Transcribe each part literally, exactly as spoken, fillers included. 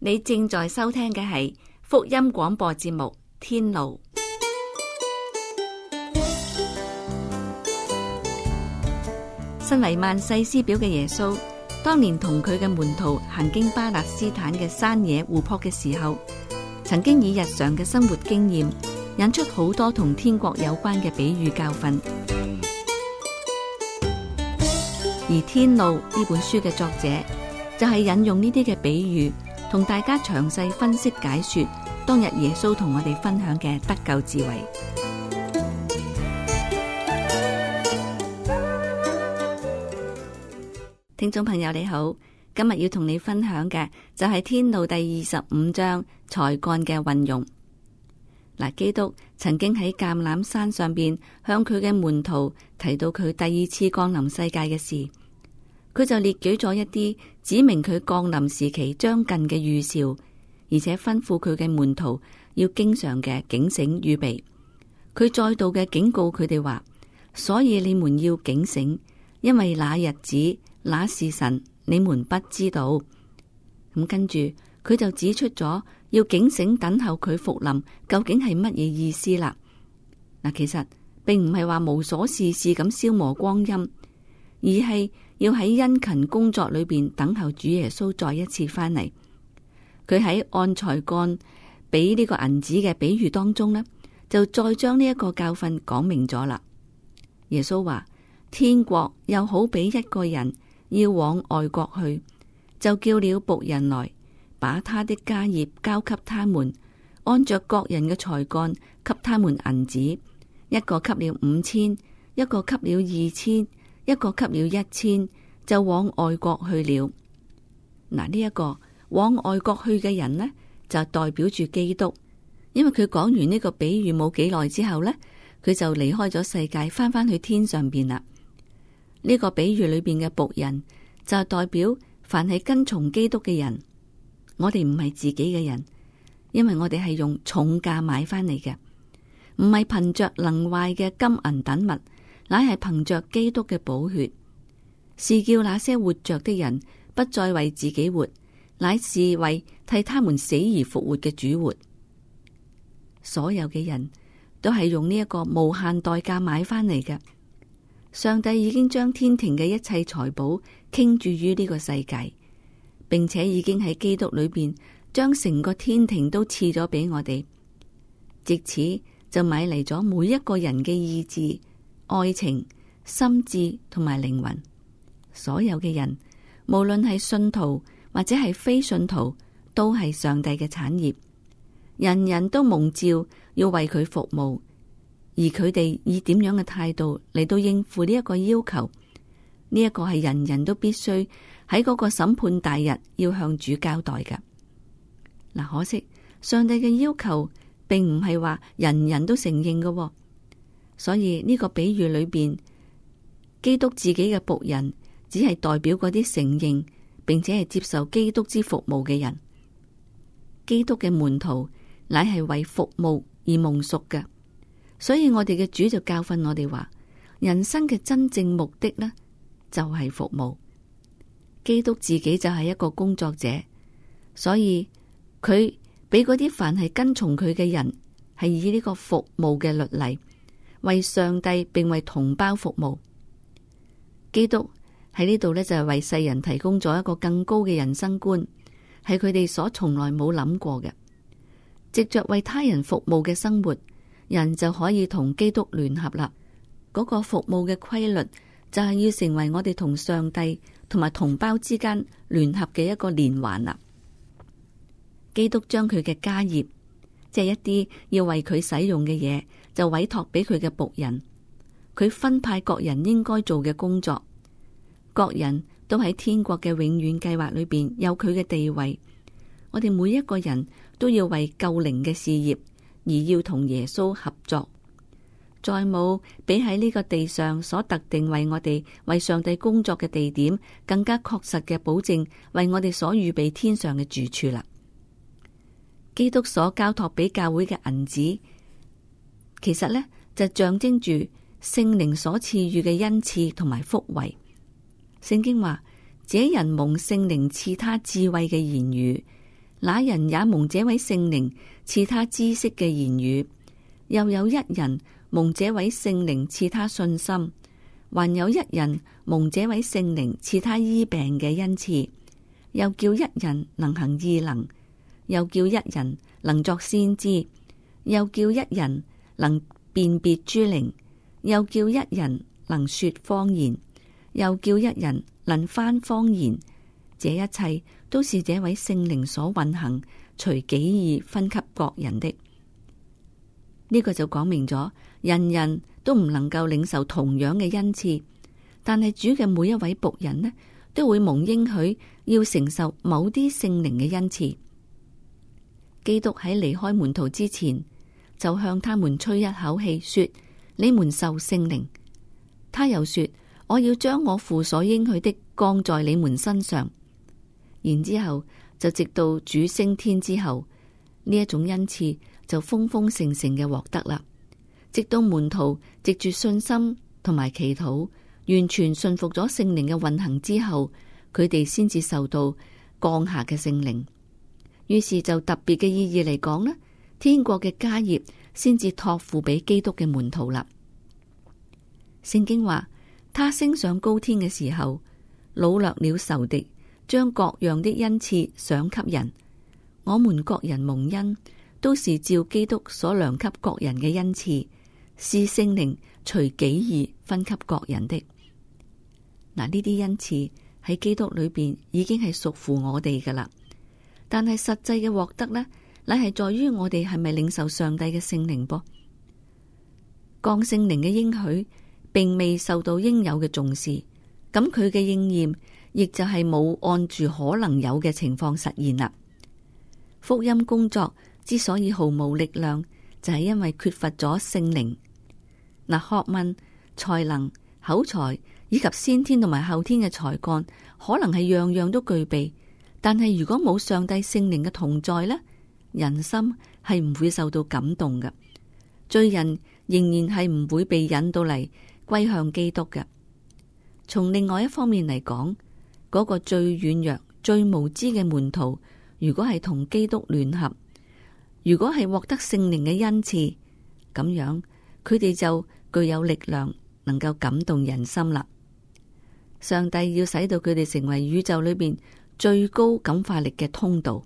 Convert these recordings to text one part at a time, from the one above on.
你正在收聽嘅係福音廣播節目《天路》。身為萬世師表嘅耶穌，當年同佢嘅門徒行經巴勒斯坦嘅山野湖泊嘅時候，曾經以日常嘅生活經驗引出好多同天國有關嘅比喻教訓。而《天路》呢本書嘅作者就係引用呢啲嘅比喻，同大家詳細分析解說當日耶穌同我哋分享嘅得救智慧。聽眾朋友你好，今日要同你分享嘅就係《天路》第二十五章才幹嘅運用。嗱，基督曾經喺橄欖山上邊向佢嘅門徒提到佢第二次降臨世界嘅事，佢就列舉咗一啲指明佢降臨時期將近嘅預兆，而且吩咐佢嘅門徒要經常嘅警醒預備。佢再度嘅警告佢哋話，所以你們要警醒，因為那日子那時辰你們不知道。咁跟住佢就指出咗要警醒等候佢復臨究竟係乜嘢意思啦。嗱，其實並唔係話無所事事咁消磨光陰，而係要喺殷勤工作裏邊等候主耶穌再一次翻嚟。佢喺按才幹俾呢個銀子嘅比喻當中呢，就再將呢一個教訓講明咗啦。耶穌話，天國又好比一個人要往外國去，就叫了僕人來，把他的家業交給他們，按着各人嘅才幹給他們銀子，一個給了五千，一個給了二千，一個給了一千，就往外國去了。嗱，呢一個往外國去嘅人呢，就代表住基督，因為佢講完呢個比喻冇幾耐之後呢，佢就離開咗世界，翻返去天上邊啦。呢個比喻裏邊嘅僕人就代表凡係跟從基督嘅人。我哋唔係自己嘅人，因為我哋係用重價買翻嚟嘅，唔係憑着能壞嘅金銀等物，乃係憑着基督嘅寶血，是叫那些活着的人不再為自己活，乃是為替他們死而復活嘅主活。所有嘅人都係用呢一個無限代價買翻嚟嘅。上帝已經將天庭嘅一切財寶傾注於呢個世界，並且已經喺基督裏邊將成個天庭都賜咗俾我哋，藉此就買嚟咗每一個人嘅意志、愛情、心智同埋靈魂。所有嘅人，無論係信徒或者係非信徒，都係上帝嘅產業。人人都蒙召要為佢服務。而佢哋以點樣嘅態度嚟到應付呢一個要求？呢一個係人人都必須喺嗰個審判大日要向主交代嘅。嗱，可惜上帝嘅要求並唔係話人人都承認嘅，所以呢個比喻裏邊，基督自己嘅僕人只係代表嗰啲承認並且係接受基督之服務嘅人。基督嘅門徒乃係為服務而蒙贖嘅。所以我哋嘅主就教訓我哋話，人生嘅真正目的呢，就係服務。基督自己就係一個工作者，所以佢俾嗰啲凡係跟從佢嘅人，係以呢個服務嘅律例，為上帝並為同胞服務。基督喺呢度呢，就係為世人提供咗一個更高嘅人生觀，係佢哋所從來冇諗過嘅。藉着為他人服務嘅生活，人就可以同基督聯合啦。嗰個服務嘅規律就係要成為我哋同上帝同埋同胞之間聯合嘅一個連環啦。基督將佢嘅家業，即係一啲要為佢使用嘅嘢，就委託俾佢嘅僕人。佢分派各人應該做嘅工作，各人都喺天國嘅永遠計劃裏邊有佢嘅地位。我哋每一個人都要為救靈嘅事業而要同耶穌合作，再冇比喺呢個地上所特定為我哋為上帝工作嘅地點更加確實嘅保證，為我哋所預備天上嘅住處啦。基督所交託俾教會嘅銀子，其實呢就象徵住聖靈所賜予嘅恩賜同埋福惠。聖經話：這人蒙聖靈賜他智慧嘅言語， 那人也蒙這位聖靈賜他知識嘅言語，又有一人蒙這位聖靈賜他信心，還有一人蒙這位聖靈賜他醫病嘅恩賜，又叫一人能行異能，又叫一人能作先知，又叫一人能辨別諸靈，又叫一人能說方言，又叫一人能翻方言。這一切都是這位聖靈所運行，隨己意分給各人的。呢個就講明咗，人人都唔能夠領受同樣嘅恩賜，但係主嘅每一位僕人呢，都會蒙應許要承受某啲聖靈嘅恩賜。基督喺離開門徒之前，就向他們吹一口氣，說：你們受聖靈。他又說：我要將我父所應許的降在你們身上。然之後就直到主升天之後，呢一種恩賜就豐豐盛盛嘅獲得啦。直到門徒藉住信心同埋祈禱，完全信服咗聖靈嘅運行之後，佢哋先至受到降下嘅聖靈。於是就特別嘅意義嚟講呢，天國嘅家業先至託付俾基督嘅門徒啦。聖經話，他升上高天嘅時候，擄掠了仇敵，將各樣的恩賜賞給人。我們各人蒙恩，都是照基督所量給各人嘅恩賜，是聖靈隨己意分給各人的。嗱，呢啲恩賜喺基督裏邊已經係屬乎我哋噶啦，但係實際嘅獲得呢，乃係在於我哋係咪領受上帝嘅聖靈噃。降聖靈嘅應許並未受到應有嘅重視，咁佢嘅應驗亦就係冇按住可能有嘅情況實現啦。福音工作之所以毫無力量，就係因為缺乏咗聖靈。嗱，學問、才能、口才以及先天同埋後天嘅才幹，可能係樣樣都具備，但係如果冇上帝聖靈嘅同在呢，人心係唔會受到感動嘅，罪人仍然係唔會被引到嚟歸向基督嘅。從另外一方面嚟講，嗰個最軟弱、最無知嘅門徒，如果係同基督聯合，如果係獲得聖靈嘅恩賜，咁樣佢哋就具有力量，能夠感動人心啦。上帝要使到佢哋成為宇宙裏邊最高感化力嘅通道。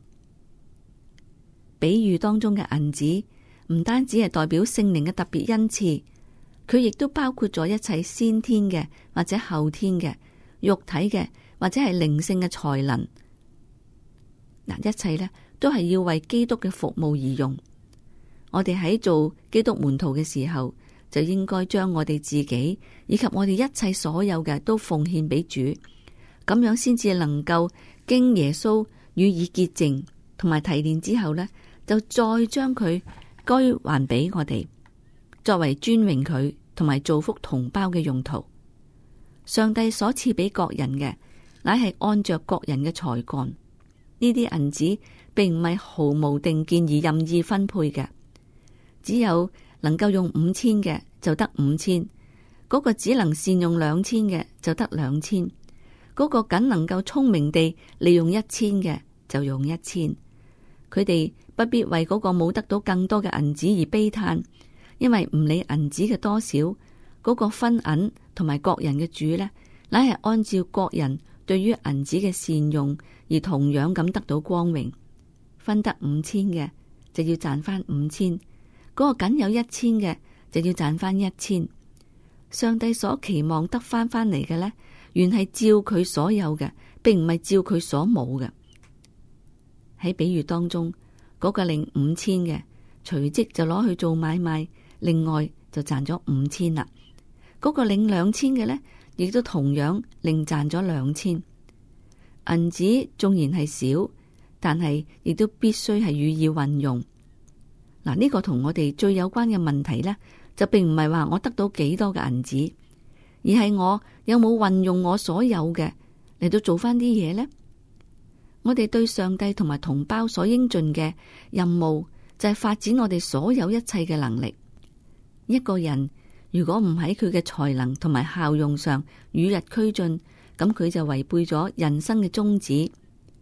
比喻當中嘅銀子，唔單止係代表聖靈嘅特別恩賜，佢亦都包括咗一切先天嘅或者後天嘅肉體嘅或者係靈性嘅才能。嗱，一切呢都係要為基督嘅服務而用。我哋喺做基督門徒嘅時候，就應該將我哋自己以及我哋一切所有嘅都奉獻俾主，咁樣先至能夠經耶穌予以潔淨同埋提煉之後呢，就再將佢歸還俾我哋，作為尊榮佢同埋造福同胞嘅用途。上帝所賜俾各人嘅，乃係按着各人嘅才幹。呢啲銀子並唔係毫無定見而任意分配嘅，只有能夠用五千嘅就得五千，嗰個只能善用兩千嘅就得兩千，嗰個僅能夠聰明地利用一千嘅就用一千。佢哋不必為嗰個冇得到更多嘅銀子而悲嘆，因為唔理銀子嘅多少，嗰個分銀同埋各人嘅主呢，乃係按照各人對於銀子嘅善用而同樣咁得到光榮。分得五千嘅就要賺翻五千，嗰個僅有一千嘅就要賺翻一千。上帝所期望得翻翻嚟嘅呢，原係照佢所有嘅，並唔係照佢所冇嘅。喺比喻當中，嗰個領五千嘅隨即就攞去做買賣，另外就賺咗五千啦。嗰個領兩千嘅呢，亦都同樣另賺咗兩千。銀子縱然係少，但係亦都必須係予以運用。嗱，呢個同我哋最有關嘅問題呢，就並唔係話我得到幾多嘅銀子，而係我有冇運用我所有嘅嚟到做翻啲嘢呢？我哋對上帝同埋同胞所應盡嘅任務，就係發展我哋所有一切嘅能力。一個人如果唔喺佢嘅才能同埋效用上與日俱進，咁佢就違背咗人生嘅宗旨。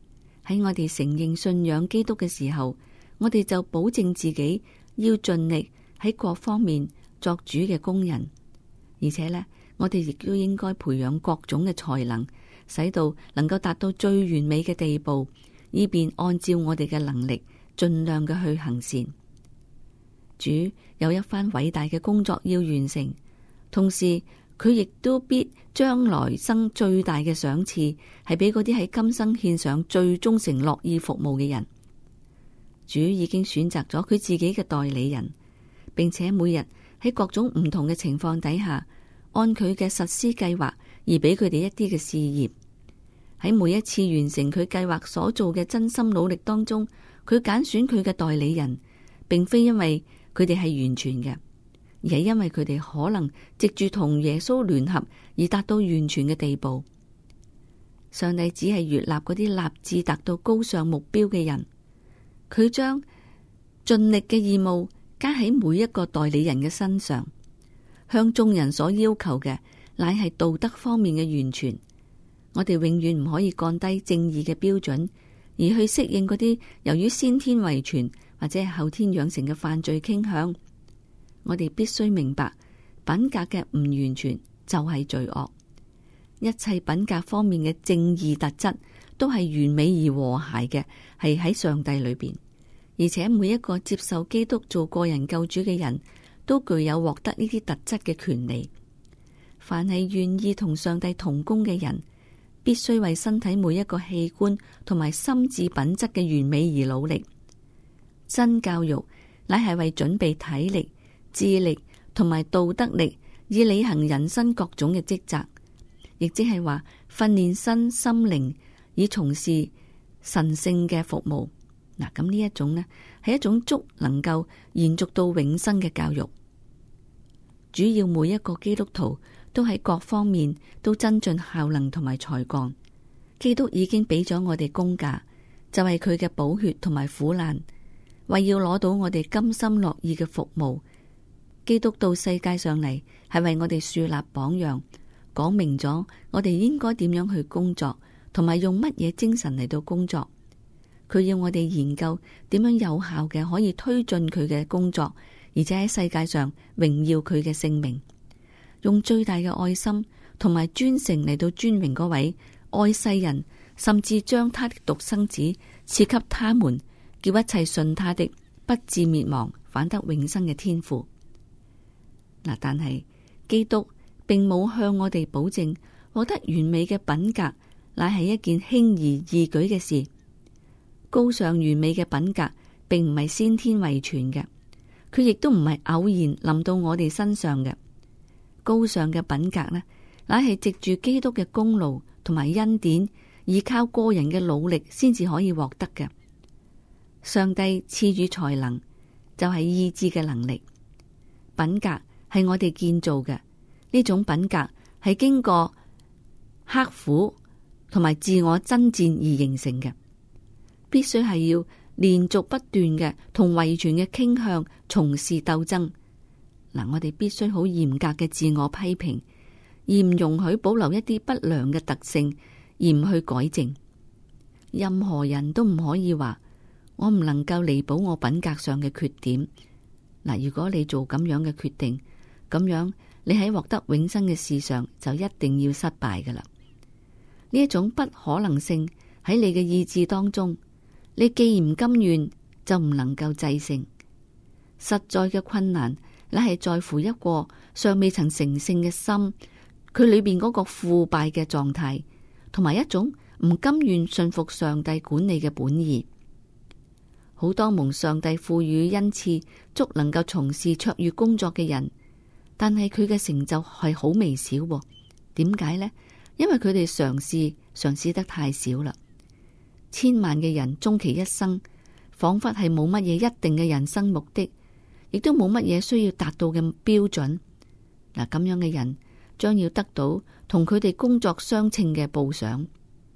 喺我哋承認信仰基督嘅時候，我哋就保證自己要盡力喺各方面作主嘅工人，而且呢，我哋亦都應該培養各種嘅才能，使到能夠達到最完美嘅地步，以便按照我哋嘅能力盡量嘅去行善。主有一番偉大嘅工作要完成，同時佢亦都必將來生最大嘅賞賜，係俾嗰啲喺今生獻上最忠誠樂意服務嘅人。主已經選擇咗佢自己嘅代理人，並且每日喺各種唔同嘅情況底下，按佢嘅實施計劃而俾佢哋一啲嘅事業。喺每一次完成佢計劃所做嘅真心努力當中，佢揀選佢嘅代理人，並非因為佢哋係完全嘅，而係因為佢哋可能藉住同耶穌聯合而達到完全嘅地步。上帝只係悅納嗰啲立志達到高尚目標嘅人，佢將盡力嘅義務加喺每一個代理人嘅身上。向眾人所要求嘅乃係道德方面嘅完全。我哋永遠唔可以降低正義嘅標準，而去適應嗰啲由於先天遺傳或者係後天養成嘅犯罪傾向。我哋必須明白，品格嘅唔完全就係罪惡。一切品格方面嘅正義特質都係完美而和諧嘅，係喺上帝裏邊。而且每一個接受基督做個人救主嘅人都具有獲得呢啲特質嘅權利。凡係願意同上帝同工嘅人，必須為身體每一個器官同埋心智品質嘅完美而努力。真教育乃係為準備體力、智力同埋道德力，以履行人生各種嘅職責，亦即係話訓練身心靈，以從事神聖嘅服務。嗱，咁呢一種呢，係一種足能夠延續到永生嘅教育。主要每一個基督徒都喺各方面都增進效能同埋才幹。基督已經俾咗我哋工價，就係佢嘅寶血同埋苦難，為要攞到我哋甘心樂意嘅服務。基督到世界上嚟，係為我哋樹立榜樣，講明咗我哋應該點樣去工作，同埋用乜嘢精神嚟到工作。佢要我哋研究點樣有效嘅可以推進佢嘅工作，而且喺世界上榮耀佢嘅聖名，用最大嘅愛心同埋專誠嚟到尊榮嗰位愛世人，甚至將他的獨生子賜給他們，叫一切信他的不至滅亡，反得永生嘅天父。嗱，但係基督並冇向我哋保證獲得完美嘅品格，乃係一件輕而易舉嘅事。高尚完美嘅品格並唔係先天遺傳嘅，佢亦都唔係偶然臨到我哋身上嘅。高尚嘅品格呢，乃係藉住基督嘅功勞同埋恩典，依靠個人嘅努力先至可以獲得嘅。上帝賜予才能，就係意志嘅能力。品格係我哋建造嘅，呢種品格係經過刻苦同埋自我爭戰而形成嘅。必須係要連續不斷嘅同遺傳嘅傾向從事鬥爭。嗱，我哋必須好嚴格嘅自我批評，而唔容許保留一啲不良嘅特性，而唔去改正。任何人都唔可以話我唔能夠彌補我品格上嘅缺點。嗱，如果你做咁樣嘅決定，咁樣你喺獲得永生嘅事上就一定要失敗噶啦。呢一種不可能性喺你嘅意志當中。你既然唔甘願，就唔能夠制勝。實在嘅困難，乃係在乎一個尚未曾成聖嘅心，佢裏邊嗰個腐敗嘅狀態，同埋一種唔甘願信服上帝管理嘅本意。好多蒙上帝賦予恩賜，足能夠從事卓越工作嘅人，但係佢嘅成就係好微小。點解呢？因為佢哋嘗試嘗試得太少啦。千萬嘅人終其一生，仿佛係冇乜嘢一定嘅人生目的，亦都冇乜嘢需要達到嘅標準。嗱，咁樣嘅人將要得到同佢哋工作相稱嘅報賞。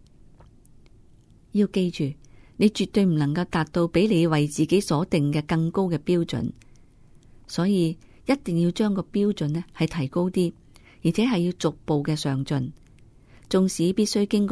要記住，你絕對唔能夠達到比你為自己所定嘅更高嘅標準，所以一定要將個標準呢係提高啲，而且係要逐步嘅上進。縱使必須經過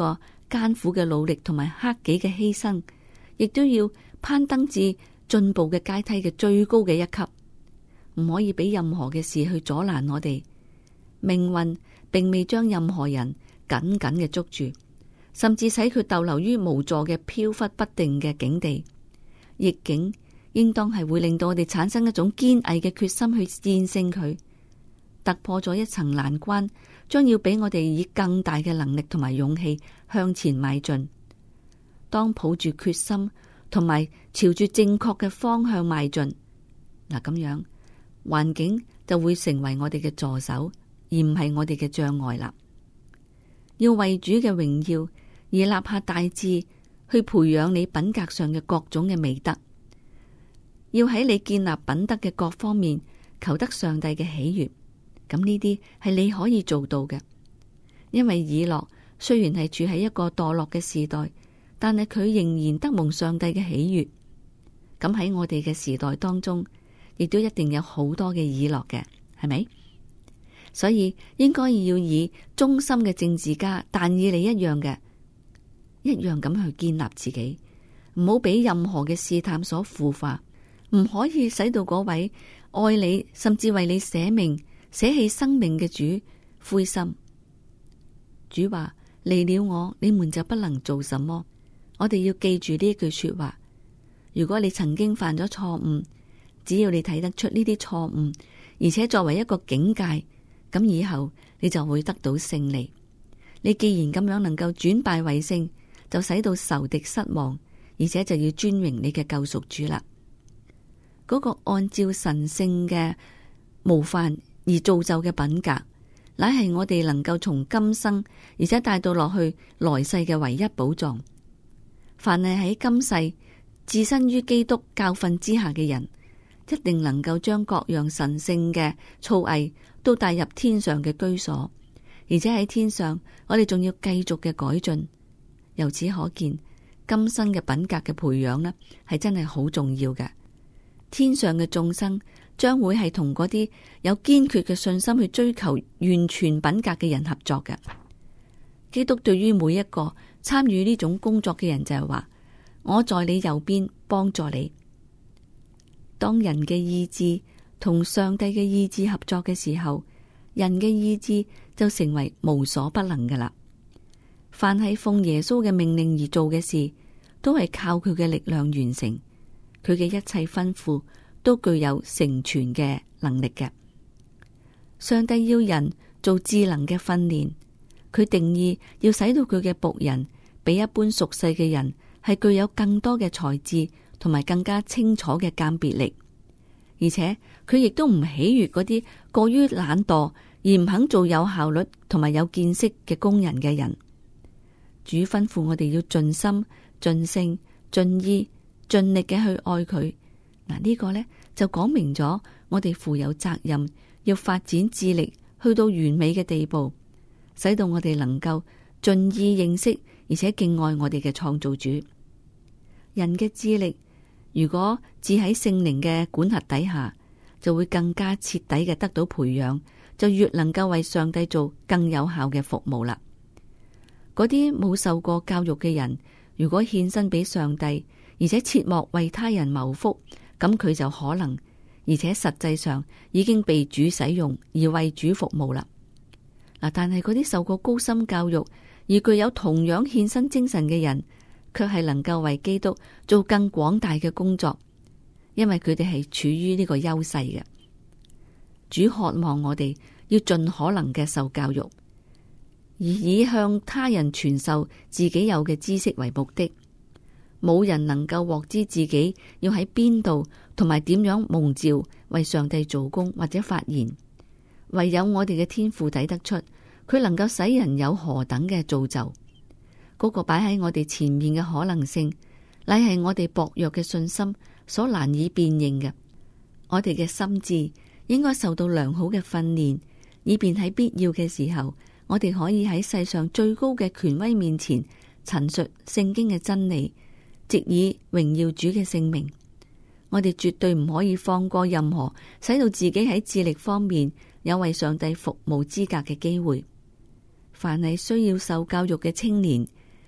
艱苦嘅努力同埋克己嘅犧牲，亦都要攀登至進步嘅階梯嘅最高嘅一級，唔可以俾任何嘅事去阻攔我哋。命運並未將任何人緊緊嘅捉住，甚至使佢逗留於無助嘅飄忽不定嘅境地。逆境應當係會令到我哋產生一種堅毅嘅決心去戰勝佢，突破咗一層難關，將要俾我哋以更大嘅能力同埋勇氣向前邁進。當抱住決心同埋朝住正確嘅方向邁進，嗱，咁樣環境就會成為我哋嘅助手，而唔係我哋嘅障礙啦。要為主嘅榮耀而立下大志，去培養你品格上嘅各種嘅美德，要喺你建立品德嘅各方面求得上帝嘅喜悅。咁呢啲係你可以做到嘅，因為以諾雖然係處喺一個墮落嘅時代，但係佢仍然得蒙上帝嘅喜悅。咁喺我哋嘅時代當中，亦都一定有好多嘅以諾嘅，係咪？所以應該要以忠心嘅政治家但以理一樣嘅，一樣咁去建立自己，唔好俾任何嘅試探所腐化，唔可以使到嗰位愛你甚至為你捨命捨棄生命嘅主灰心。主話：離了我，你們就不能做什麼。我哋要記住呢一句說話。如果你曾經犯咗錯誤，只要你睇得出呢啲錯誤，而且作為一個警戒，咁以後你就會得到勝利。你既然咁樣能夠轉敗為勝，就使到仇敵失望，而且就要尊榮你嘅救贖主啦。嗰個按照神聖嘅模範而造就嘅品格，乃係我哋能夠從今生而且帶到落去來世嘅唯一寶藏。凡係喺今世置身於基督教訓之下嘅人，一定能夠將各樣神聖嘅造詣都帶入天上嘅居所，而且喺天上我哋仲要繼續嘅改進。由此可見，今生嘅品格嘅培養呢，係真係好重要嘅。天上嘅眾生將會係同嗰啲有堅決嘅信心去追求完全品格嘅人合作嘅。基督對於每一個參與呢種工作嘅人就係話：我在你右邊幫助你。當人嘅意志同上帝嘅意志合作嘅時候，人嘅意志就成為無所不能㗎喇。凡係奉耶穌嘅命令而做嘅事，都係靠佢嘅力量完成。佢嘅一切吩咐都具有成全嘅能力嘅。上帝要人做智能嘅訓練，佢定義要使到佢嘅僕人比一般俗世嘅人係具有更多嘅才智同埋更加清楚嘅鑑別力，而且佢亦都唔喜悅嗰啲過於懶惰而唔肯做有效率同埋有見識嘅工人嘅人。主吩咐我哋要盡心、盡性、盡意、盡力嘅去愛佢。嗱，呢個呢就講明咗我哋負有責任，要發展智力去到完美嘅地步，使到我哋能夠盡意認識而且敬愛我哋嘅創造主。人嘅智力如果置喺聖靈嘅管轄底下，就會更加徹底嘅得到培養，就越能夠為上帝做更有效嘅服務啦。嗰啲冇受過教育嘅人，如果獻身俾上帝，而且切莫為他人謀福，咁佢就可能，而且實際上已經被主使用而為主服務啦。嗱，但係嗰啲受過高深教育而具有同樣獻身精神嘅人，卻係能夠為基督做更廣大嘅工作，因為佢哋係處於呢個優勢嘅。主渴望我哋要盡可能嘅受教育，而以向他人傳授自己有嘅知識為目的。冇人能夠獲知自己要喺邊度同埋點樣蒙召為上帝做工或者發言，唯有我哋嘅天父睇得出，佢能夠使人有何等嘅造就。嗰個擺喺我哋前面嘅可能性，乃係我哋薄弱嘅信心所難以辨認嘅。我哋嘅心智應該受到良好嘅訓練，以便喺必要嘅時候，我哋可以喺世上最高嘅權威面前陳述聖經嘅真理，藉以榮耀主嘅聖名。我哋絕對唔可以放過任何使到自己喺智力方面有為上帝服務資格嘅機會。凡係需要受教育嘅青年，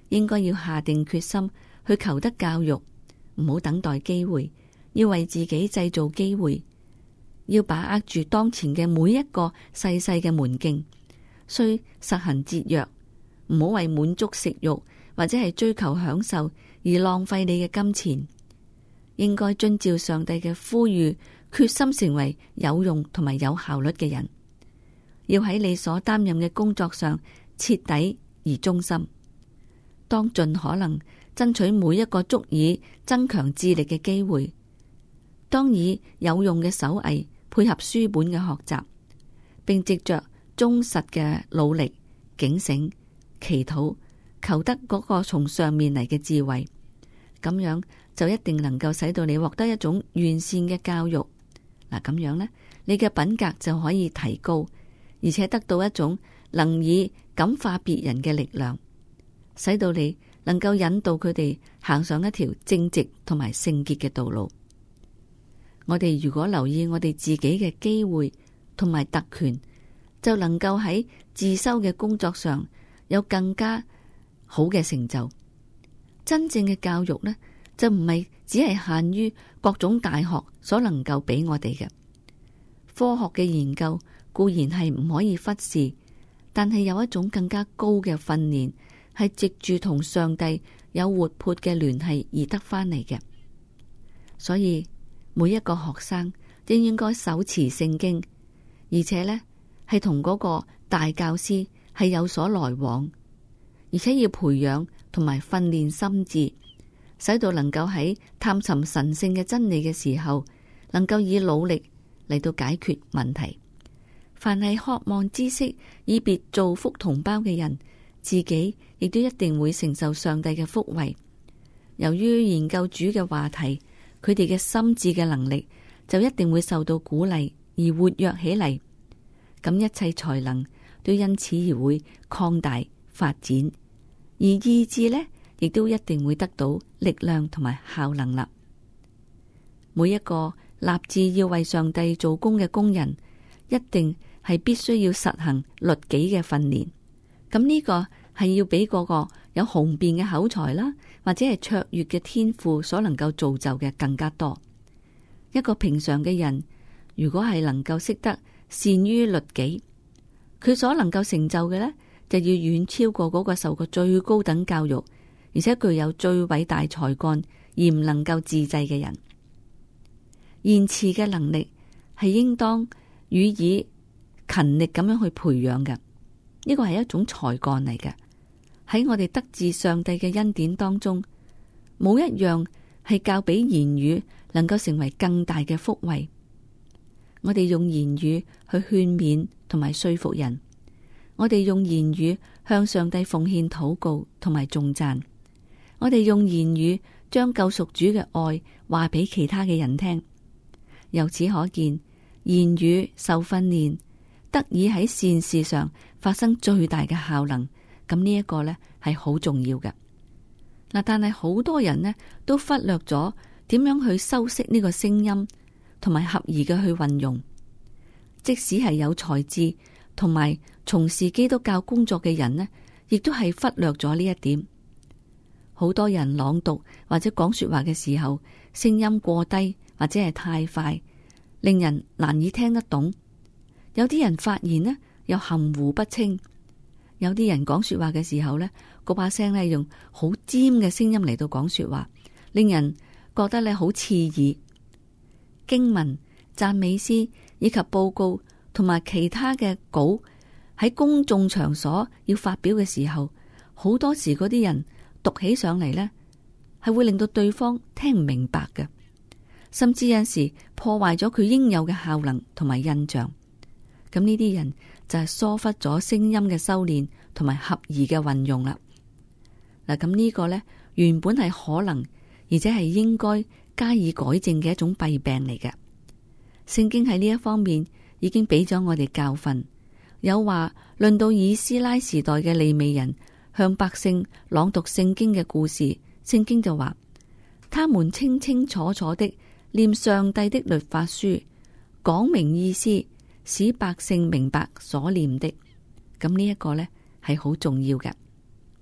應該要下定決心去求得教育，唔好等待機會，要為自己製造機會，要把握住當前嘅每一個細細嘅門徑，需實行節約，唔好為滿足食慾或者係追求享受而浪費你嘅金錢。應該遵照上帝嘅呼籲，決心成為有用同埋有效率嘅人，要喺你所擔任嘅工作上徹底而忠心。當盡可能爭取每一個足以增強智力嘅機會，當以有用嘅手藝配合書本嘅學習，並藉着忠實嘅努力、警醒、祈禱，求得嗰個從上面嚟嘅智慧，咁樣就一定能夠使到你獲得一種完善嘅教育。嗱，咁樣呢，你嘅品格就可以提高，而且得到一種能以感化別人嘅力量，使到你能夠引導佢哋行上一條正直同埋聖潔嘅道路。我哋如果留意我哋自己嘅機會同埋特權，就能夠喺自修嘅工作上有更加好嘅成就。真正嘅教育呢，就唔係只係限於各種大學所能夠俾我哋嘅。科學嘅研究固然係唔可以忽視，但係有一種更加高嘅訓練，係藉住同上帝有活潑嘅聯繫而得翻嚟嘅。所以每一個學生都應該手持聖經，而且呢係同嗰個大教師係有所來往，而且要培養同埋訓練心智，使到能夠喺探尋神聖嘅真理嘅時候，能夠以努力嚟到解決問題。凡係渴望知識以別造福同胞嘅人，自己亦都一定會承受上帝嘅福惠。由於研究主嘅話題，佢哋嘅心智嘅能力就一定會受到鼓勵而活躍起嚟，咁一切才能都因此而會擴大發展，而意志呢，亦都一定會得到力量同埋效能啦。每一個立志要為上帝做工嘅工人，一定係必須要實行律己嘅訓練。咁呢個係要比嗰個有雄辯嘅口才啦，或者係卓越嘅天賦所能夠造就嘅更加多。一個平常嘅人，如果係能夠識得善於律己，佢所能夠成就嘅呢，就要遠超過嗰個受過最高等教育，而且具有最偉大才幹而唔能夠自制嘅人。言辭嘅能力係應當予以勤力咁樣去培養嘅，呢個係一種才幹嚟嘅。喺我哋得自上帝嘅恩典當中，冇一樣係較比言語能夠成為更大嘅福惠。我哋用言語去勸勉同埋說服人，我哋用言語向上帝奉獻禱告同埋頌讚，我哋用言語將救贖主嘅愛話俾其他嘅人聽。由此可見，言語受訓練得以喺善事上發生最大嘅效能。咁呢一個呢係好重要嘅。嗱，但係好多人呢都忽略咗點樣去修飾呢個聲音，同埋合宜嘅去運用。即使係有才智同埋從事基督教工作嘅人呢，亦都係忽略咗呢一點。好多人朗讀或者講說話嘅時候，聲音過低或者係太快，令人難以聽得懂。有啲人發言呢又含糊不清。有啲人講說話嘅時候呢，嗰把聲呢用好尖嘅聲音嚟到講說話，令人覺得呢好刺耳。經文、讚美詩以及報告同埋其他嘅稿喺公眾場所要發表嘅時候，好多時嗰啲人讀起上嚟呢係會令到對方聽唔明白嘅，甚至有時破壞咗佢應有嘅效能同埋印象。咁呢啲人就係疏忽咗聲音嘅修煉同埋合宜嘅運用啦。嗱，咁呢個呢，原本係可能，而且係應該加以改正嘅一種弊病嚟嘅。聖經喺呢一方面已經俾咗我哋教訓，有話論到以斯拉時代嘅利未人向百姓朗讀聖經嘅故事，聖經就話，他們清清楚楚的念上帝的律法書，講明意思，使百姓明白所念的。咁呢一個呢係好重要嘅。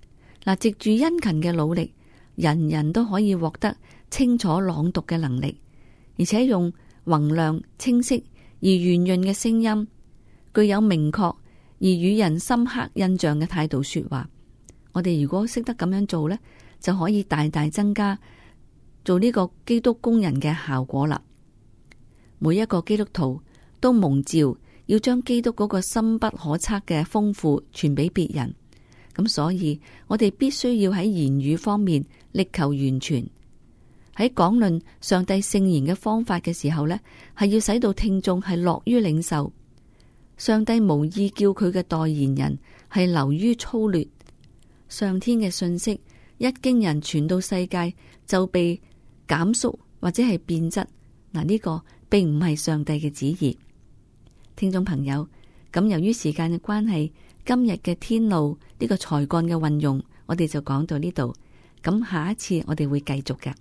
嗱，藉住殷勤嘅努力，人人都可以獲得清楚朗讀嘅能力，而且用宏亮、清晰而圓潤嘅聲音，具有明確而與人深刻印象嘅態度說話。我哋如果識得咁樣做呢，就可以大大增加做呢個基督工人嘅效果啦。每一個基督徒都蒙召要將基督嗰個深不可測嘅豐富傳俾別人，咁所以我哋必須要喺言語方面力求完全。喺講論上帝聖言嘅方法嘅時候呢，係要使到聽眾係樂於領受。上帝無意叫佢嘅代言人係流於粗劣。上天嘅信息一經人傳到世界就被減縮或者係變質，嗱，呢個並唔係上帝嘅旨意。聽眾朋友，咁由於時間嘅關係，今日嘅天路呢個才幹嘅運用，我哋就講到呢度。咁下一次我哋會繼續嘅。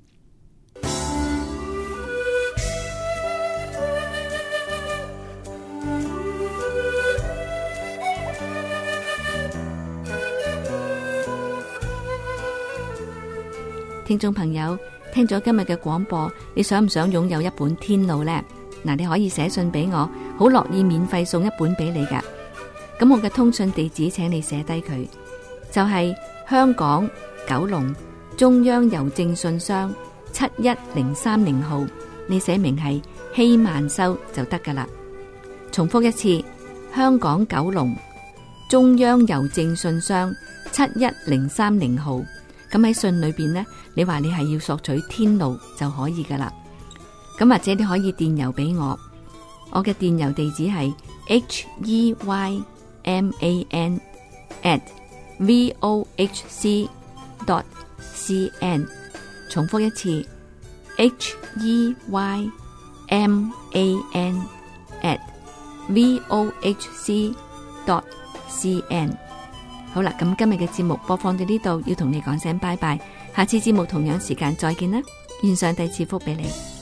聽眾朋友，聽咗今日嘅廣播，你想唔想擁有一本天路呢？嗱，你可以寫信俾我，好樂意免費送一本俾你噶。咁我嘅通訊地址，請你寫低佢，就係香港九龍中央郵政信箱七一零三零號，你寫明係希曼修就得噶啦。重複一次，香港九龍中央郵政信箱七一零三零號。咁喺信裏邊呢，你話你係要索取天路就可以噶啦。咁或者你可以電郵俾我，我嘅電郵地址係 h e y m a n at v o h c dot c n。重複一次 h e y m a n at v o h c dot c n。好啦，咁今日嘅節目播放到呢度，要同你講聲拜拜。下次節目同樣時間再見啦，願上帝賜福俾你。